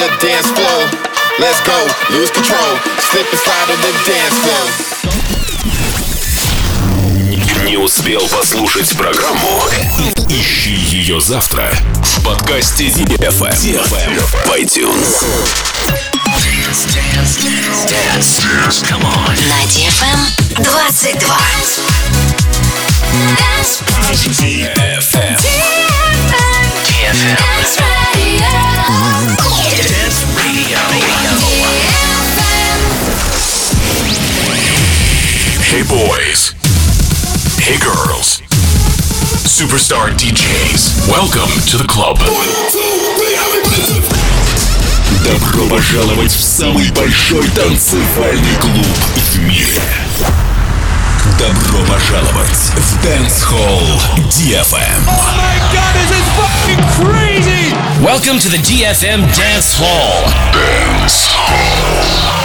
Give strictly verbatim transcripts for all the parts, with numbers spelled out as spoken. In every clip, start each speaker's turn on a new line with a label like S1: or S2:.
S1: the dance floor. Let's go, lose control, slip and slide on the dance floor.
S2: Не успел послушать программу? Ищи ее завтра в подкасте ди эф эм в iTunes.
S3: Dance, dance, dance, dance, come on. На ди эф эм двадцать два. Dance ди эф эм. ди эф эм. Dance Radio. Dance Radio.
S2: Hey boys. Hey girls. Superstar ди джейс. Welcome to the club. Добро пожаловать в самый большой танцевальный клуб в мире. Добро пожаловать в Dance Hall ди эф эм.
S4: Oh my God, this is fucking crazy!
S5: Welcome to the ди эф эм Dance Hall.
S2: Dance Hall.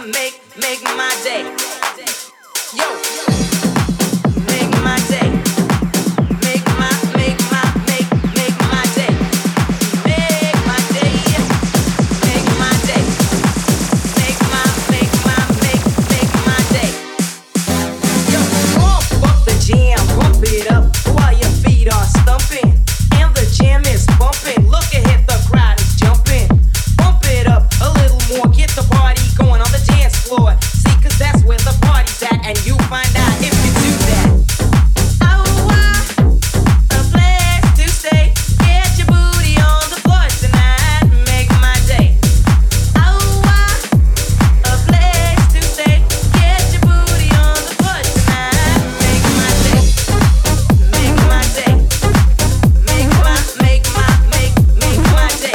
S6: make, make my day. Yo, make my day. Make my, make my, make, make my day. Make my day. Make my day. Make my, make my, make, make my day. Yo, pump up the jam, pump it up while your feet are stumping. And the jam is bumping. Look ahead, the crowd is jumping. Pump it up a little more, get the party going on the dance floor. See, cause that's where the party's at, and you find out if you do that. Oh, I, a place to stay. Get your booty on the floor tonight, make my day. Oh, I, a place to stay. Get your booty on the floor tonight, make my day. Make my day. Make my, make my, make, make my day.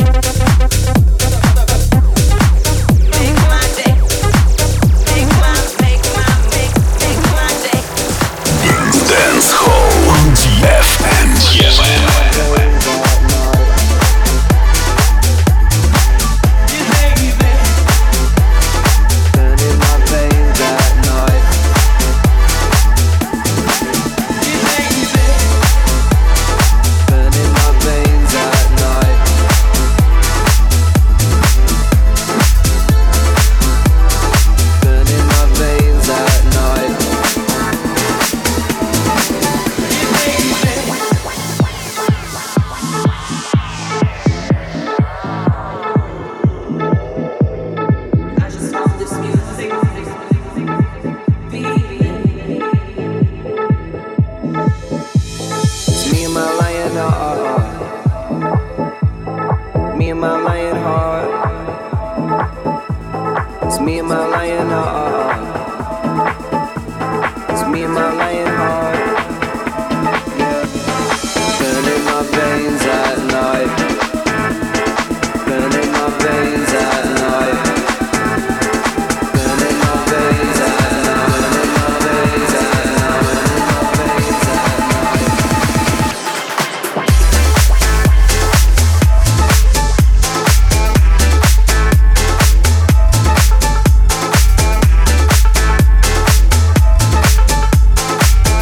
S6: Make my day. Make my, make my, make, make my day.
S2: Dance Hall ди эф эм.
S6: I just love this music.
S7: It's me and my lion heart. Me and my lion heart. It's me and my lion heart. It's me and my lion heart. Yeah. Burning my veins at night. Burning my veins at night. Burning my veins at night. Burning my veins at night. Burning my veins at night.
S6: Make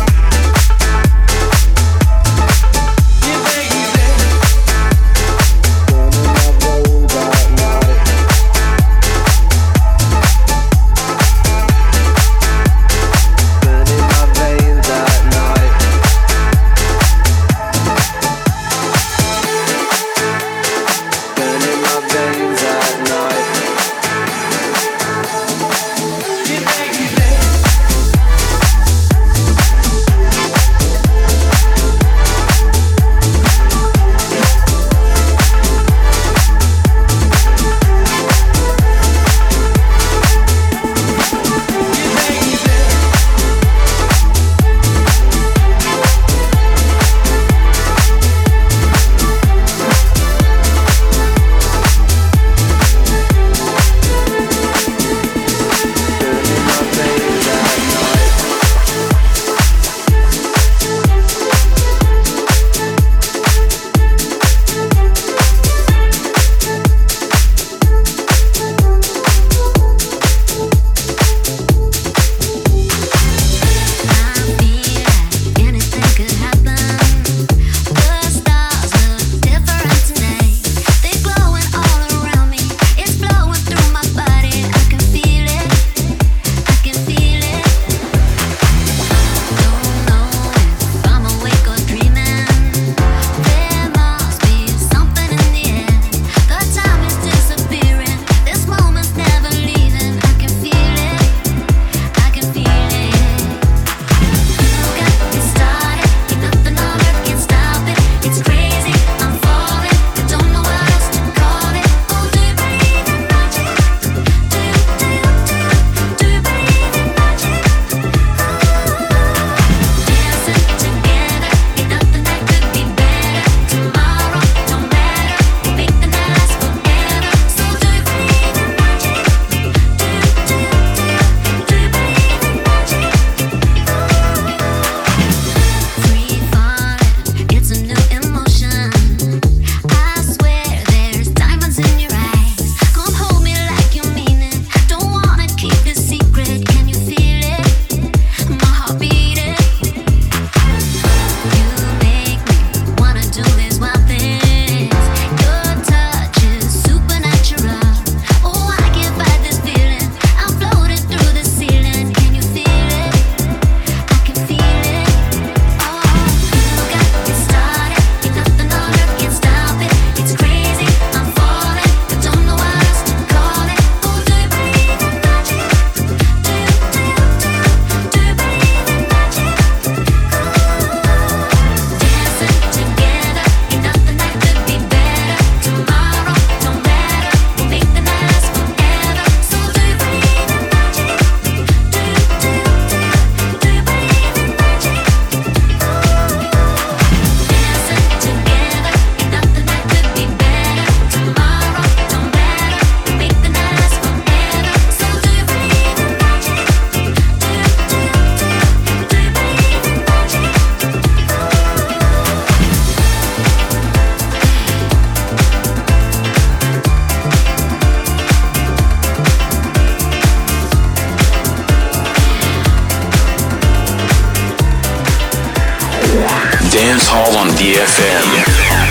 S2: Hall on ди эф эм.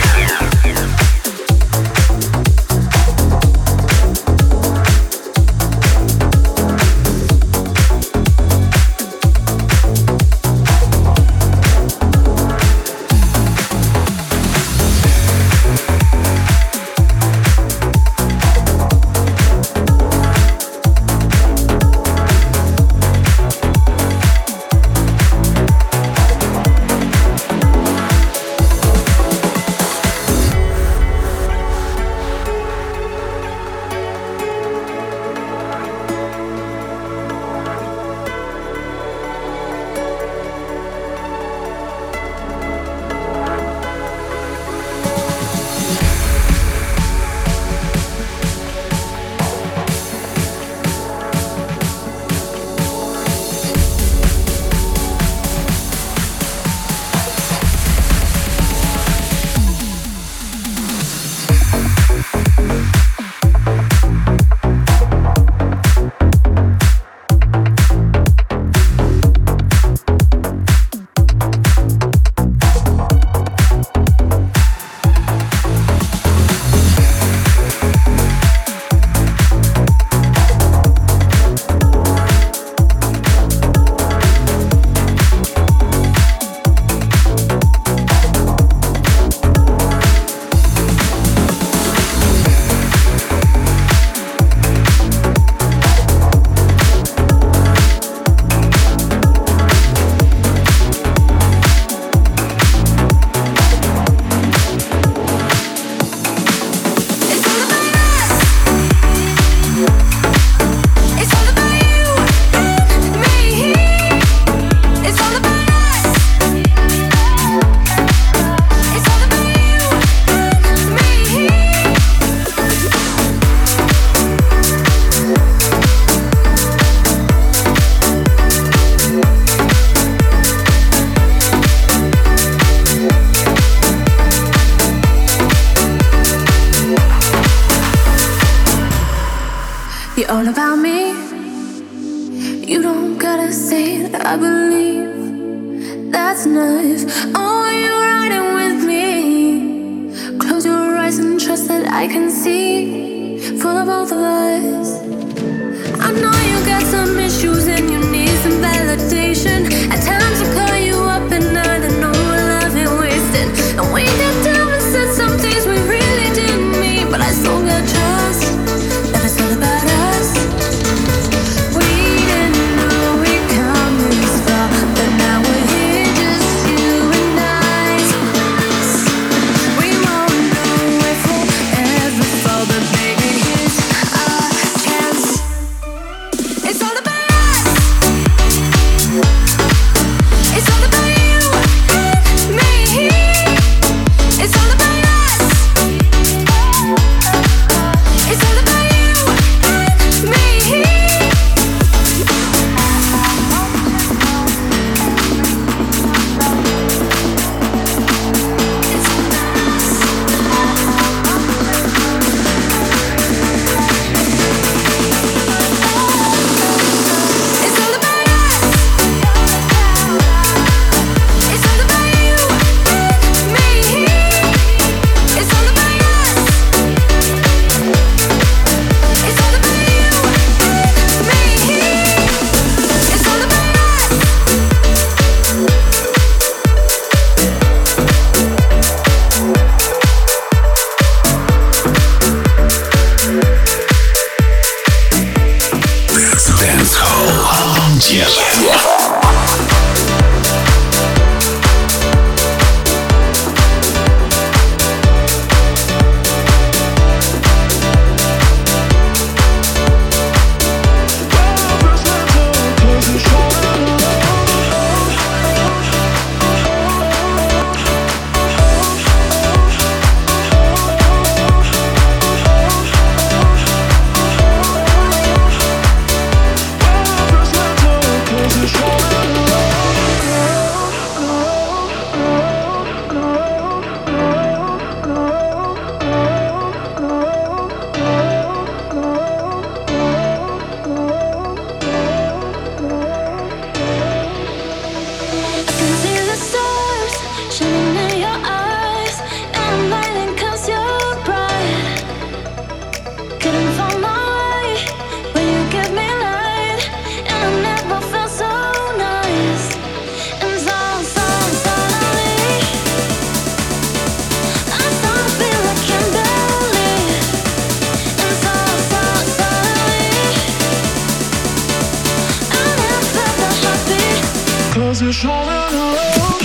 S8: All about me. You don't gotta say that I believe. That's enough. Oh, you're riding with me. Close your eyes and trust that I can see for the both of us. I know you got some issues and you need some validation. At times I call you up at night and know our love ain't wasted. And we got down and said some things we really didn't mean, but I still got trust that it's all about us.
S9: I it's all in the road.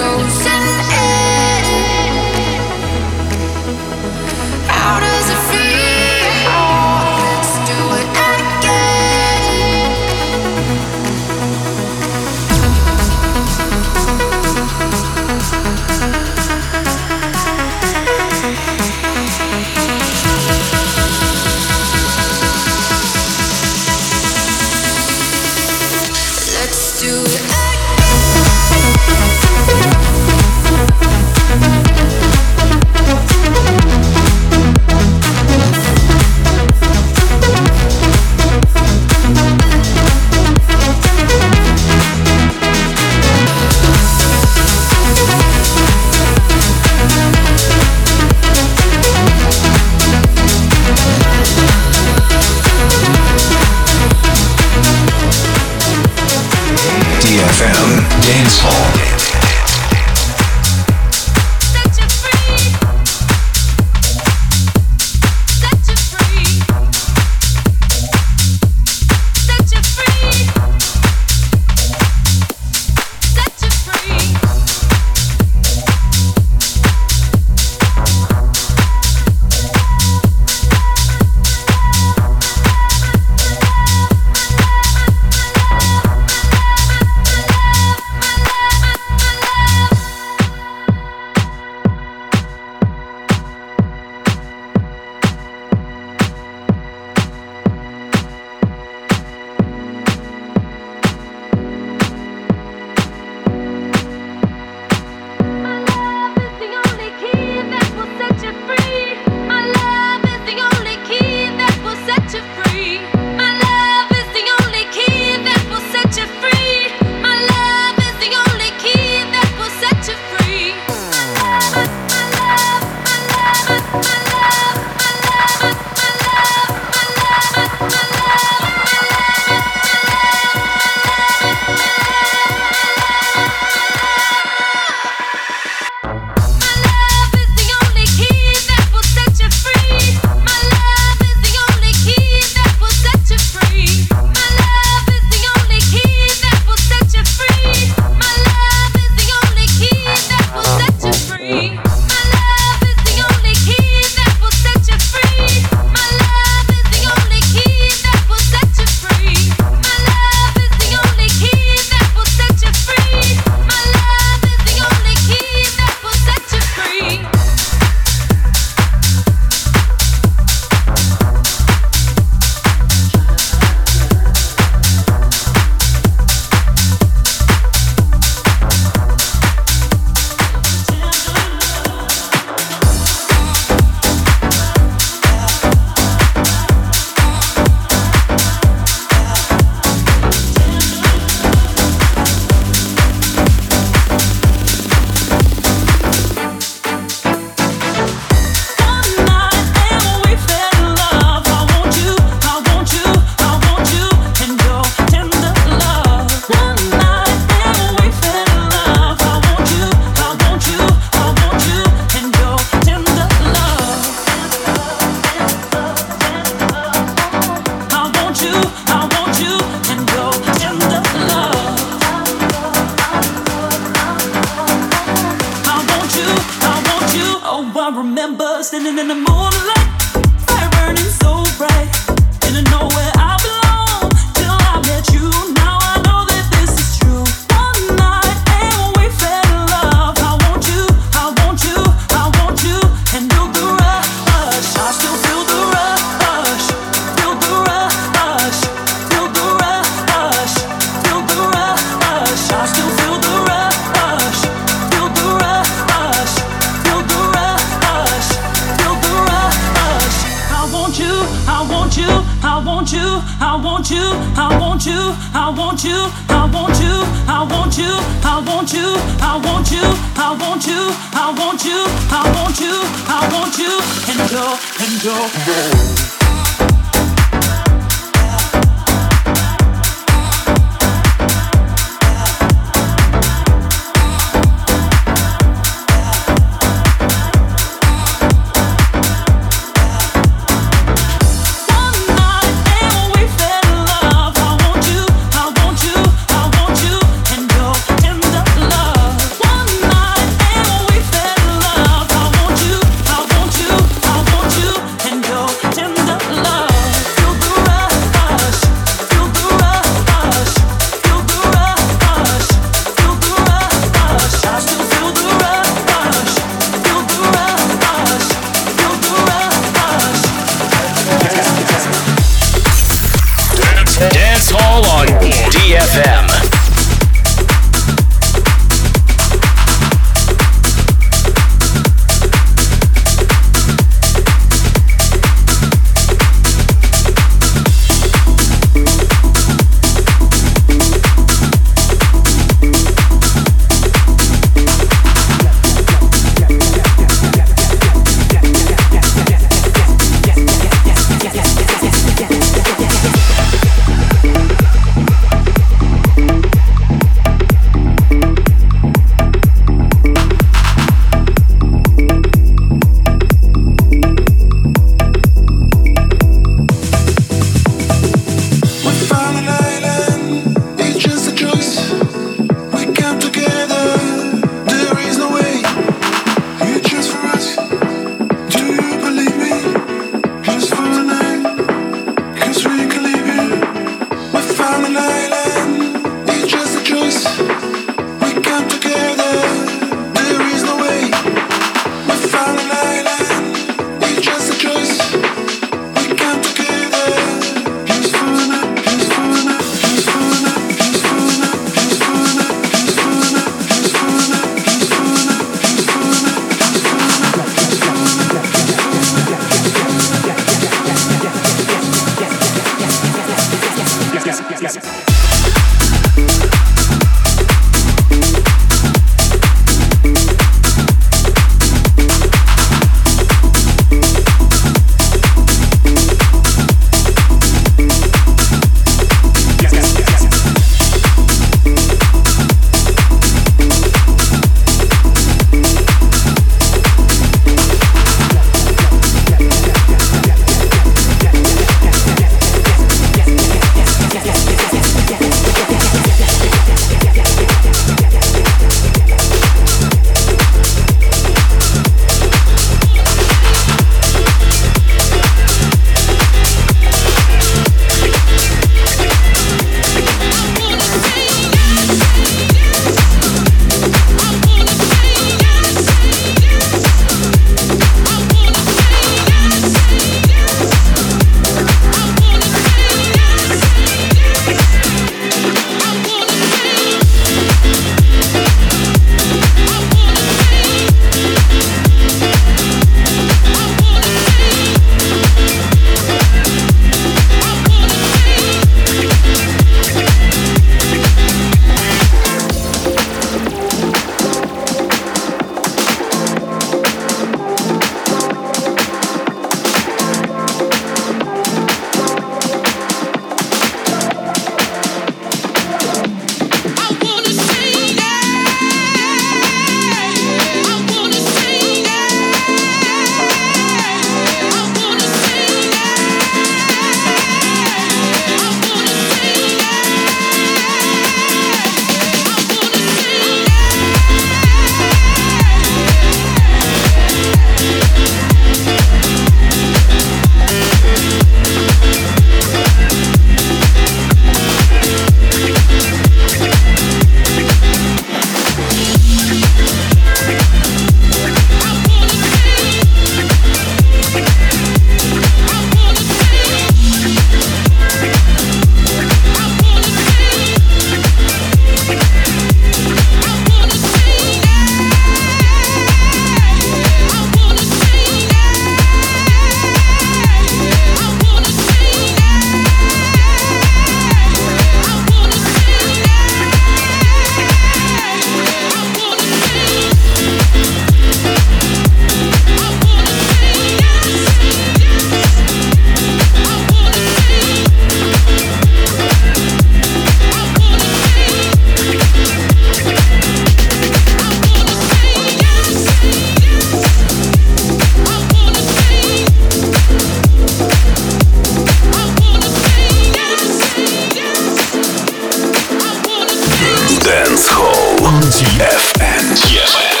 S2: on ди эф эм. ди эф эм.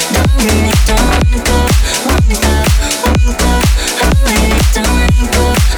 S8: Don't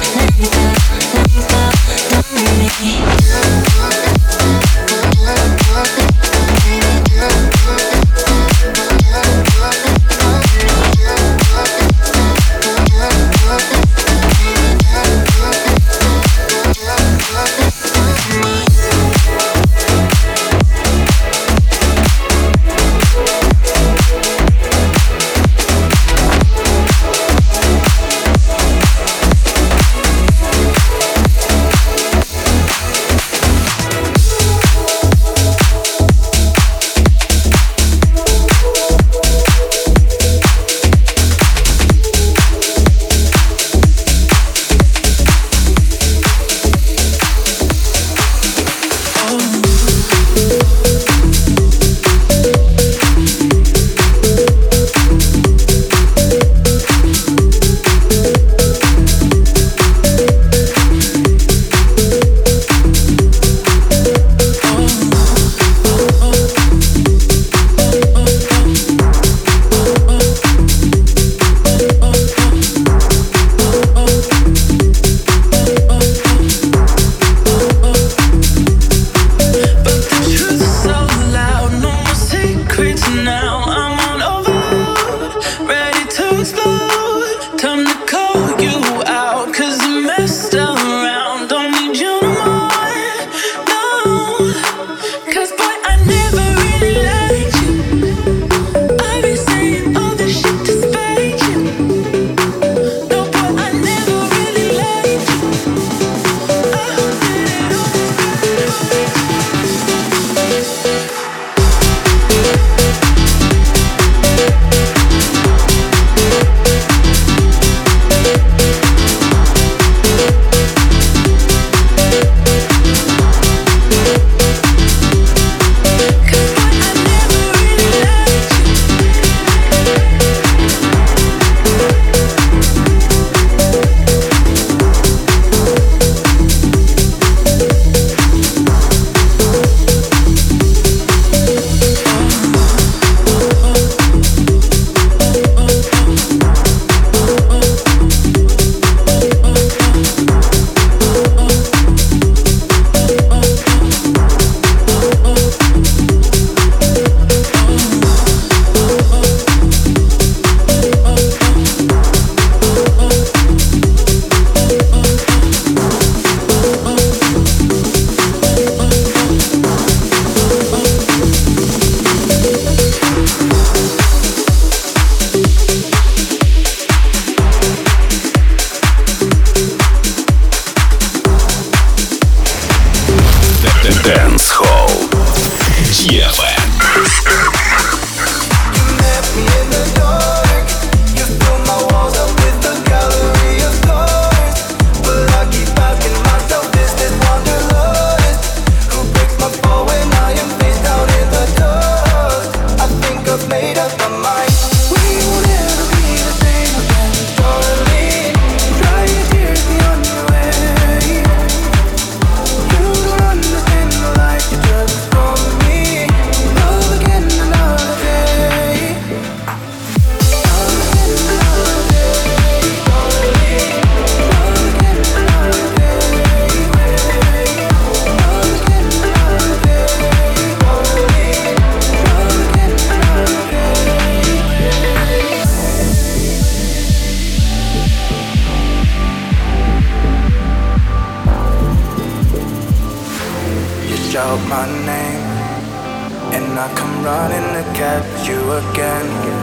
S9: out my name, and I come running to catch you again.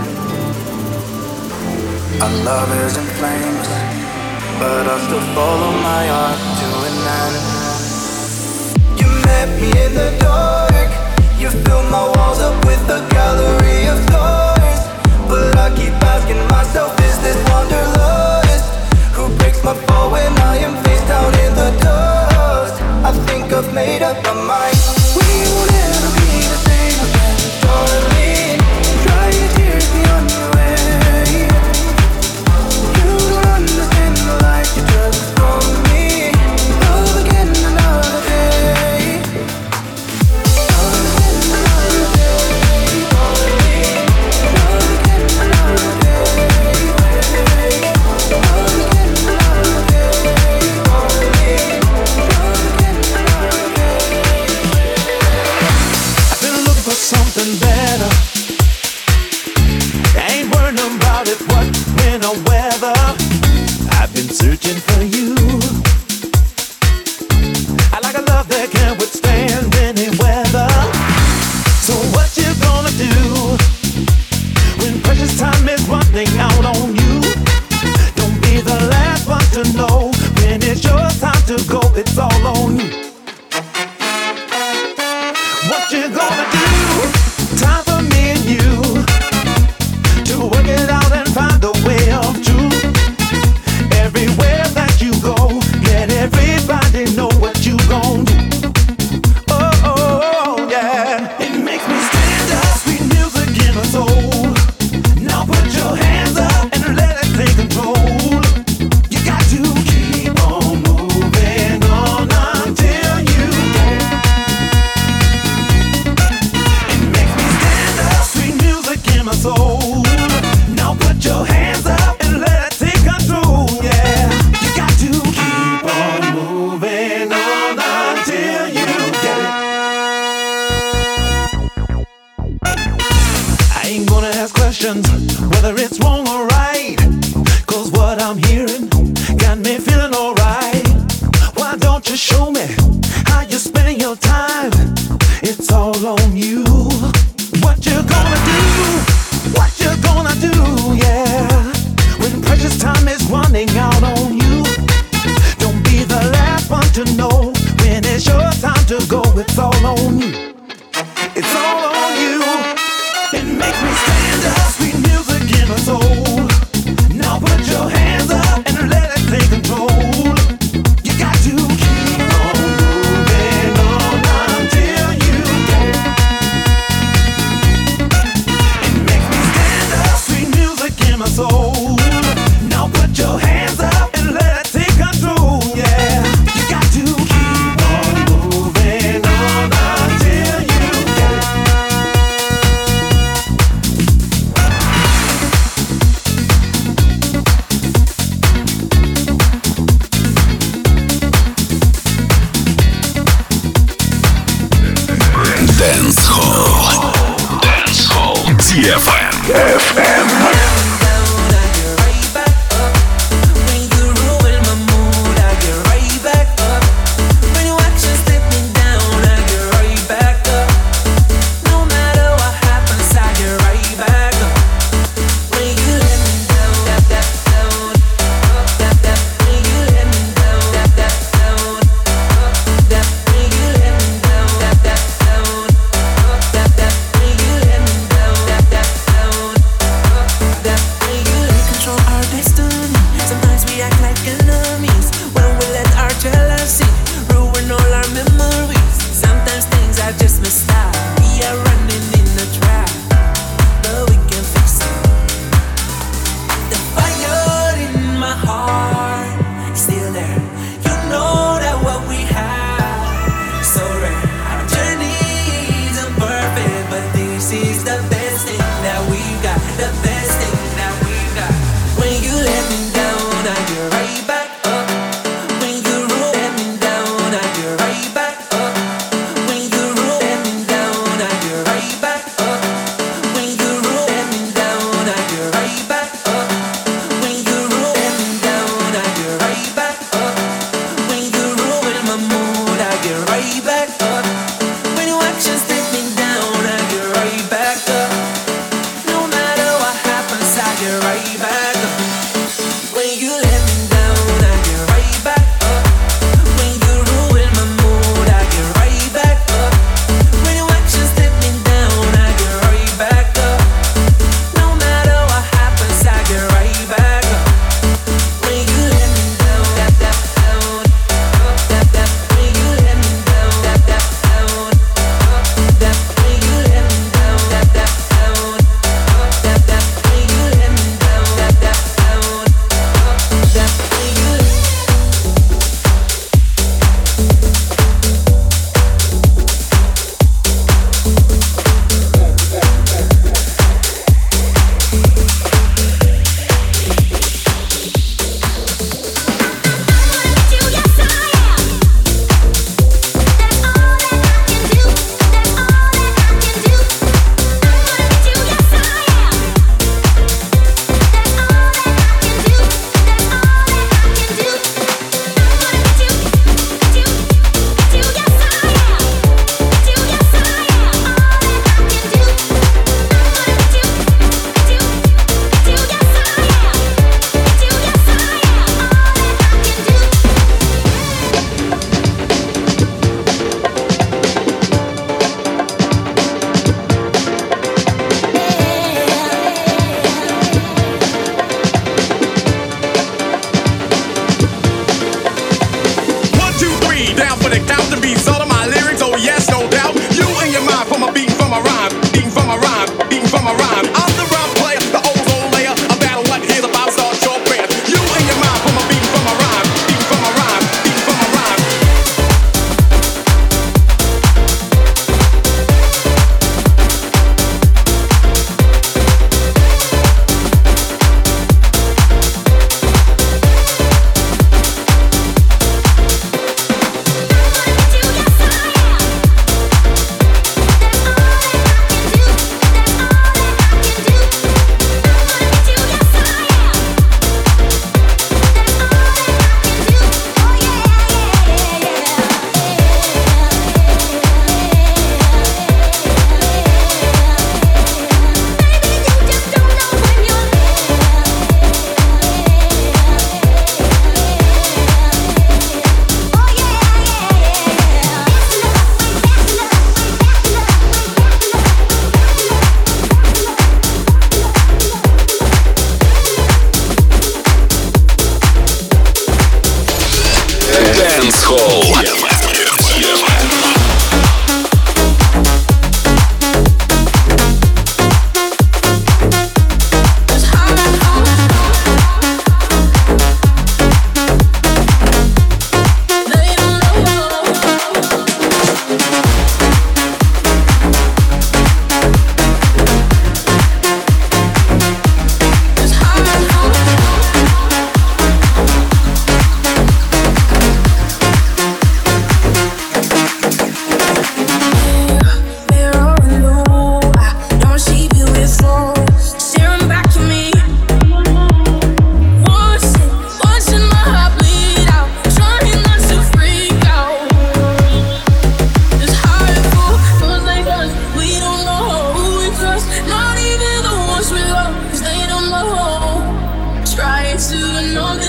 S9: Our love is in flames, but I'll still follow my heart to an end. You met me in the dark, you filled my walls up with a gallery of stars. But I keep asking myself, is this wanderlust? Who breaks my fall when I am face down in the dust? I think I've made up my mind. We won't ever be the same again, darling. Dry your tears, be on your way. You don't understand the life you took from me. Love again another day. Love again another day, darling. Love again another day. Love again another day, darling. Love again another day.
S4: I've been looking for something better. I ain't worrying about it, what, when, or whether. I've been searching for you. I like a love that can withstand any weather. So what you gonna do when precious time is running out on you? Don't be the last one to know when it's your time to go. It's all on you. What you gonna do? Time for me and you to work it out and find a way of truth. Everywhere that you go, let everybody know what you gon' do. Oh, oh, oh, yeah. It makes me stand up, sweet music in my soul. Now put your hands up and let it take control. You got to keep on moving on until you get it. It makes me stand up, sweet music in my soul. Now put your hands up and let it take control, yeah. You got to keep on moving on until you get it. I ain't gonna ask questions whether it's wrong or right, 'cause what I'm hearing got me feeling alright. Why don't you show me how you're spending your time? It's all on you. What you gonna do? What you gonna do, yeah, when precious time is running out on you? Don't be the last one to know when it's your time to go. It's all on you. It's all on you. It makes me stand up, sweet music in my soul. Now put your hands up and let it take control. You got to keep on moving on until you get it. It makes me stand up, sweet music in my soul. Now put your hands up and let it take control, yeah. You got to keep on moving on until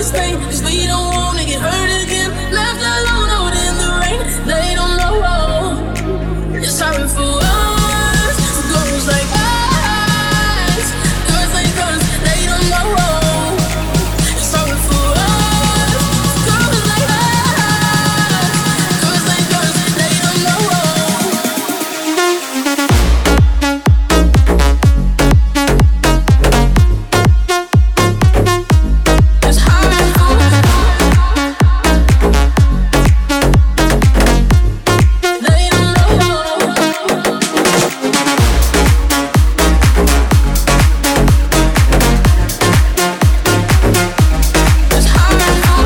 S10: this pain, cause we don't wanna get hurt again. Left alone out in the rain, they don't know. You're sorry for us, girls like us, girls like us, they don't know. You're sorry for us, girls like us, girls like us, they don't know. It's hard for they don't know. It's hard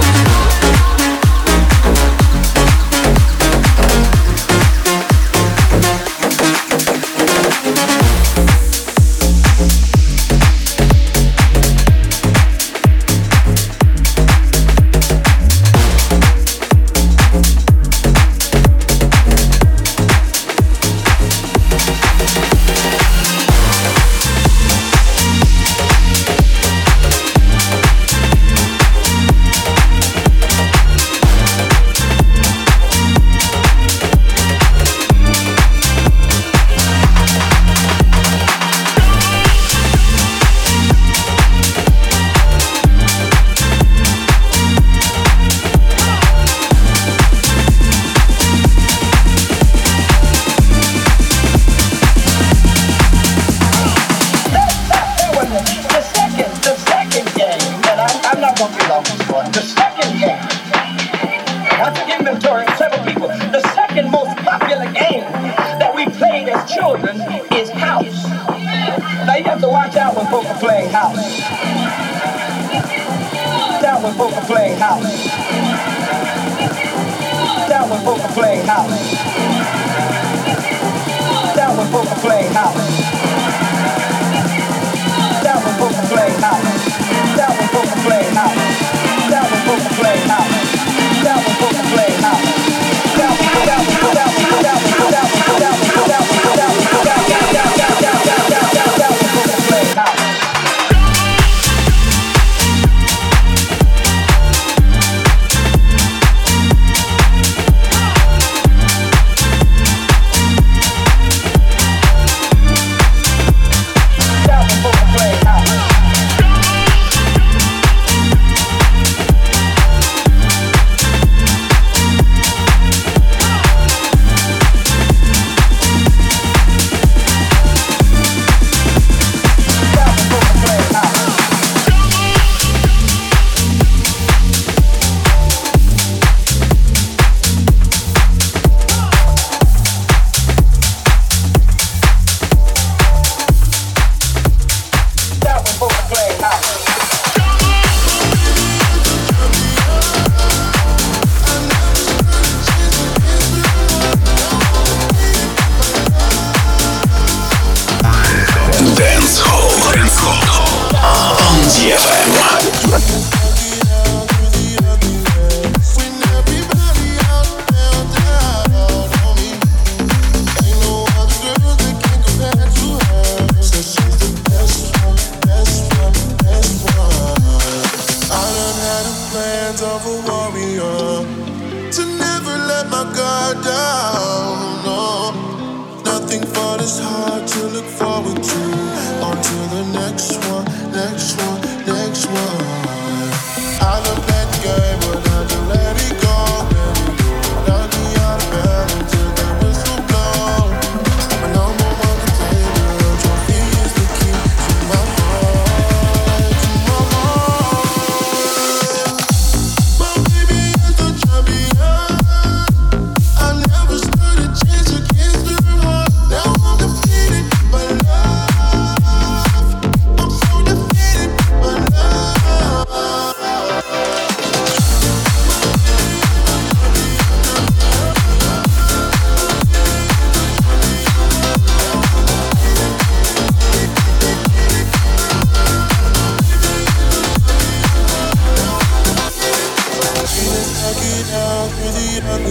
S11: The second, the second game, and I'm, I'm not going to be long this one. The second game, I took inventory of several people. The second most popular game that we played as children is house. Now you have to watch out when folk are playing house. Down when folk are playing house. Down when folk are playing house. Down when folk are playing house. Down when folk are playing house. Down when folk are playing house. Down when folk are playing house. Down when folk are playing house. Down when down when down when down when down when down when down when down when down when down when down when down when folk are playing house.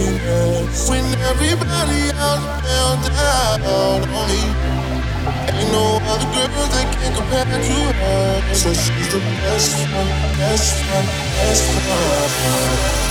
S12: When everybody else fell down on me, ain't
S1: no other girl that can compare to her. So she's the best one, best one, best one.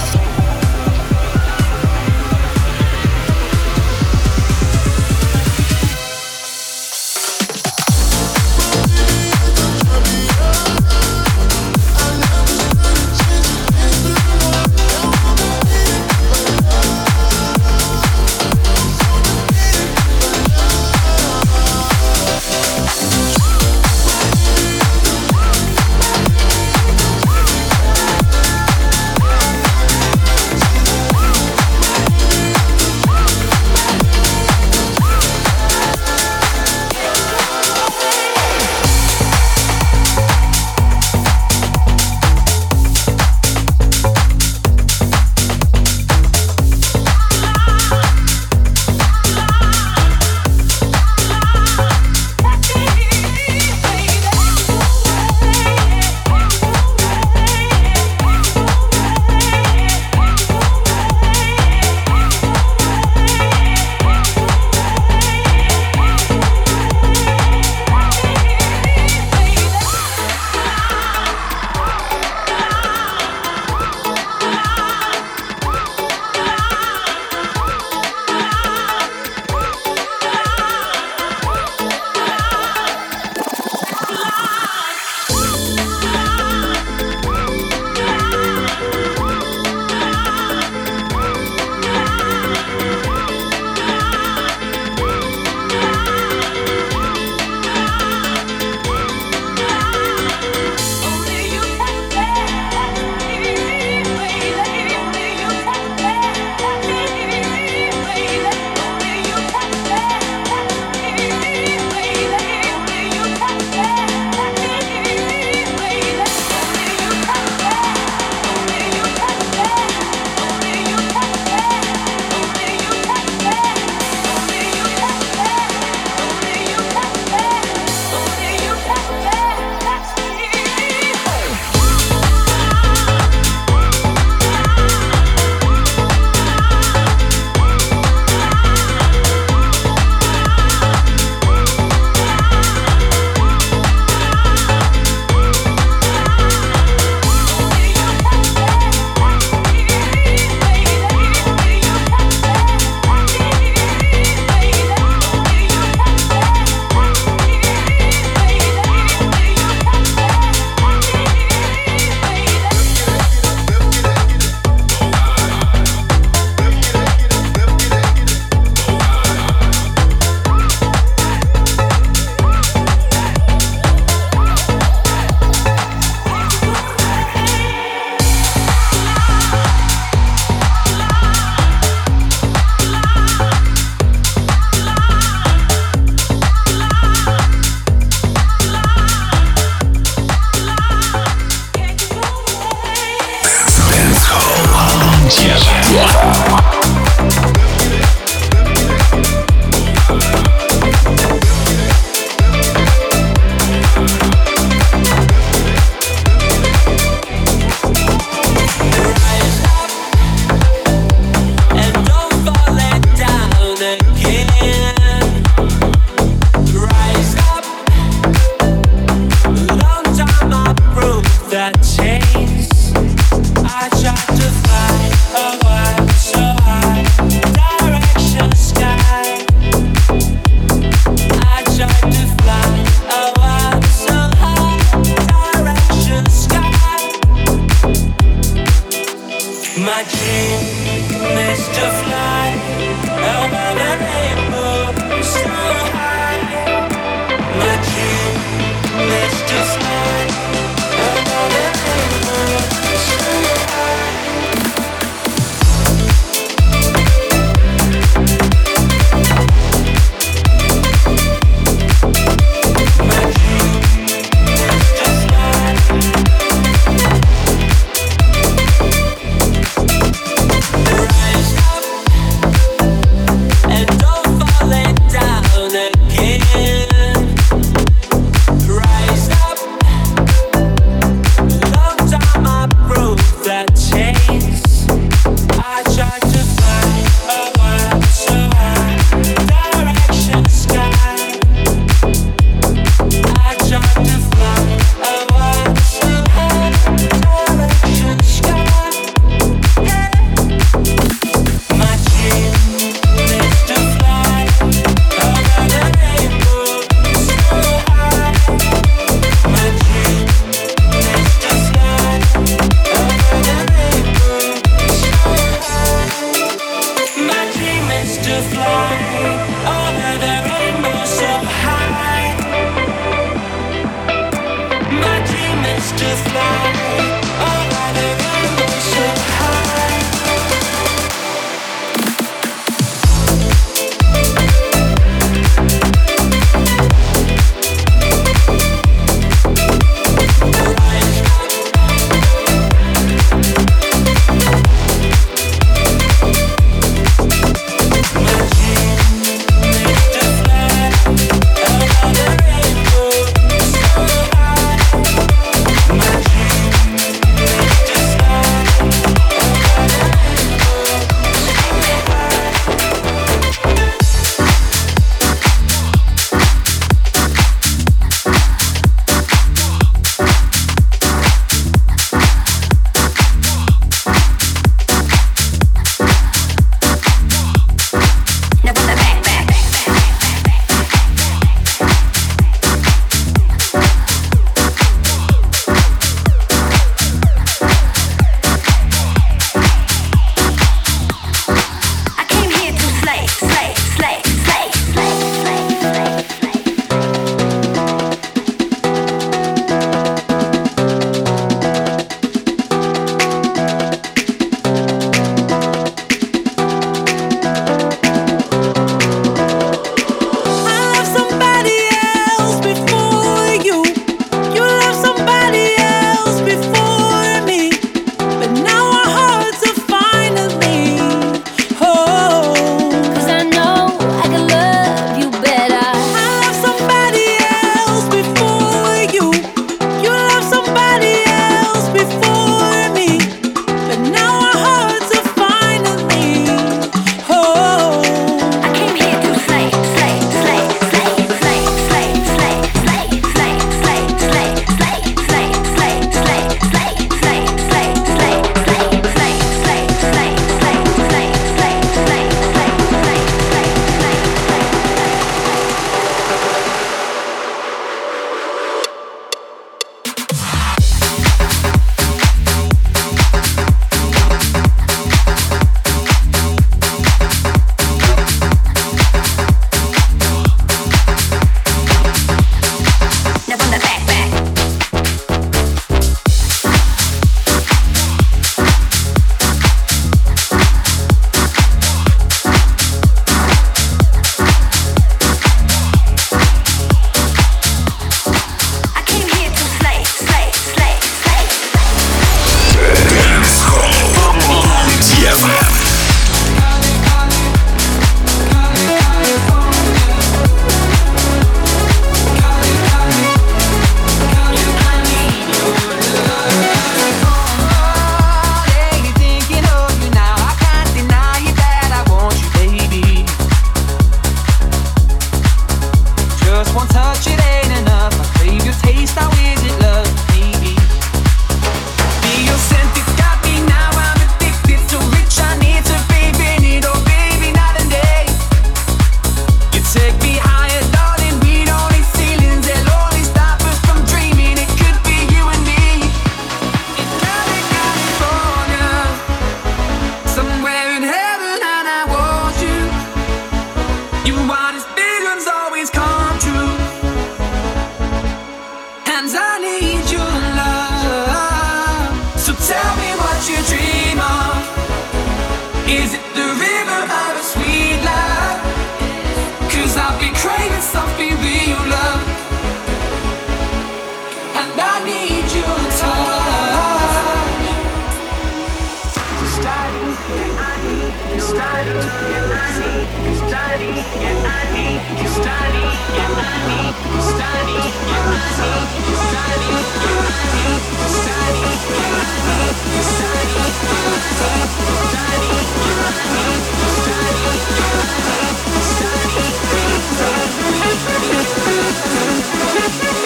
S4: just fly. Oh, by the vibration high.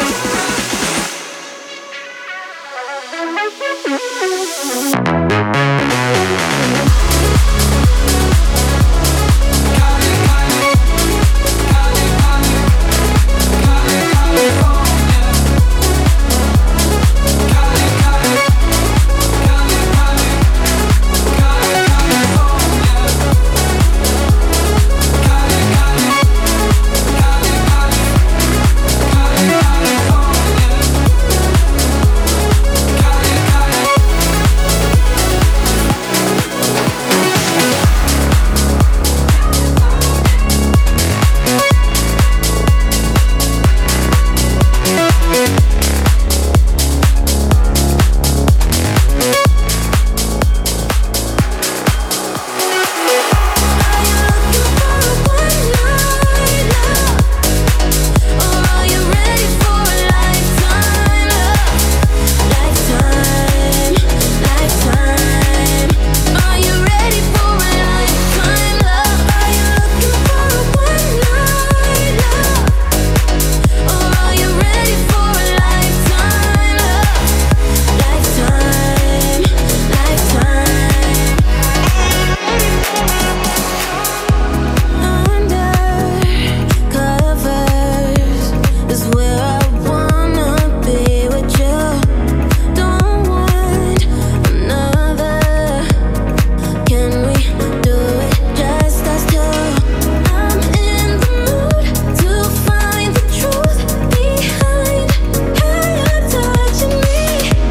S8: We'll be right back.